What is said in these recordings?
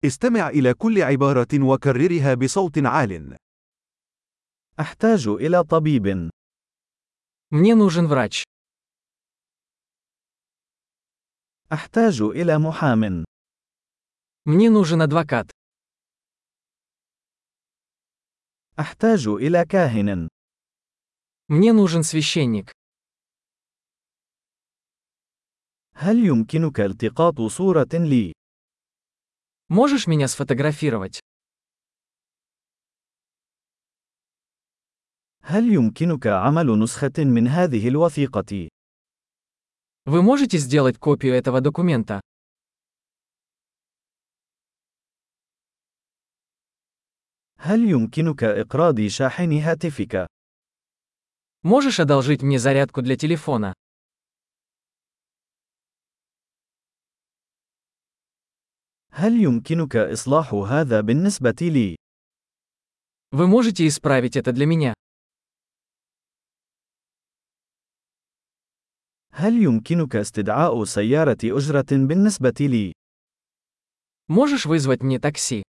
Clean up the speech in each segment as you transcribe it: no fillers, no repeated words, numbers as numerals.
استمع إلى كل عبارة وكررها بصوت عال. أحتاج إلى طبيب. Мне нужен врач. أحتاج إلى محام. Мне нужен адвокат. أحتاج إلى كاهن. Мне нужен священник. هل يمكنك التقاط صورة لي؟ Можешь меня сфотографировать? هل يمكنك عمل نسخة من هذه الوثيقة؟ Вы можете сделать копию этого документа? هل يمكنك إقراض شاحن هاتفك؟ Можешь одолжить мне зарядку для телефона? هل يمكنك إصلاح هذا بالنسبة لي؟ Вы можете исправить это для меня? هل يمكنك استدعاء سيارة أجرة بالنسبة لي؟ Можешь вызвать мне такси?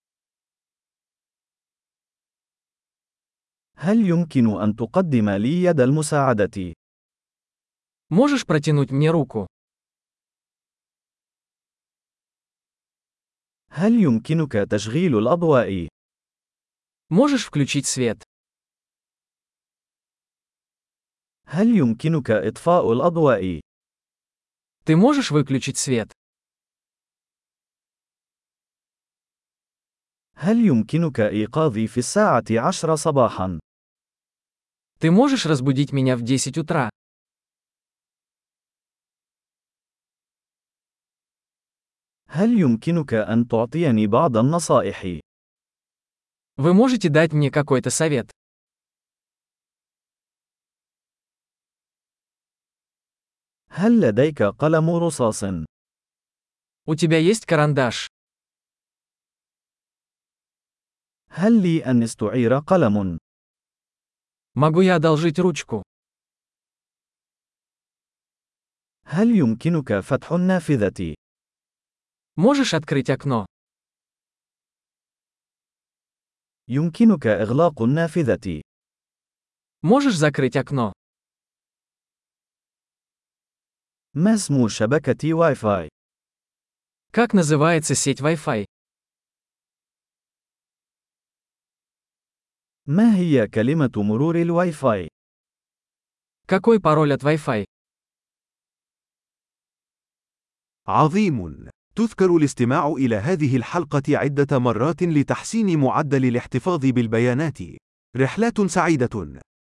هل يمكن أن تقدم لي يد المساعدة؟ Можешь протянуть мне руку? هل يمكنك تشغيل الأضواء؟ Можешь включить свет? هل يمكنك إطفاء الأضواء؟ Ты можешь выключить свет? هل يمكنك إيقاظي في 10:10 صباحا؟ Ты можешь разбудить меня в 10 утра? هل يمكنك أن تعطيني بعض النصائح؟ Вы можете дать мне какой-то совет? هل لديك قلم رصاص؟ У тебя есть карандаш? هل لي أن استعير قلم؟ Могу я одолжить ручку? هل يمكنك فتح النافذة؟ Можешь открыть окно? يمكنك إغلاق النافذة. Можешь закрыть окно? ما اسم شبكة واي فاي؟ Как называется сеть Wi-Fi? ما هي كلمة مرور الواي فاي؟ Какой пароль от Wi-Fi? عظيم! تذكر الاستماع إلى هذه الحلقة عدة مرات لتحسين معدل الاحتفاظ بالبيانات. رحلات سعيدة!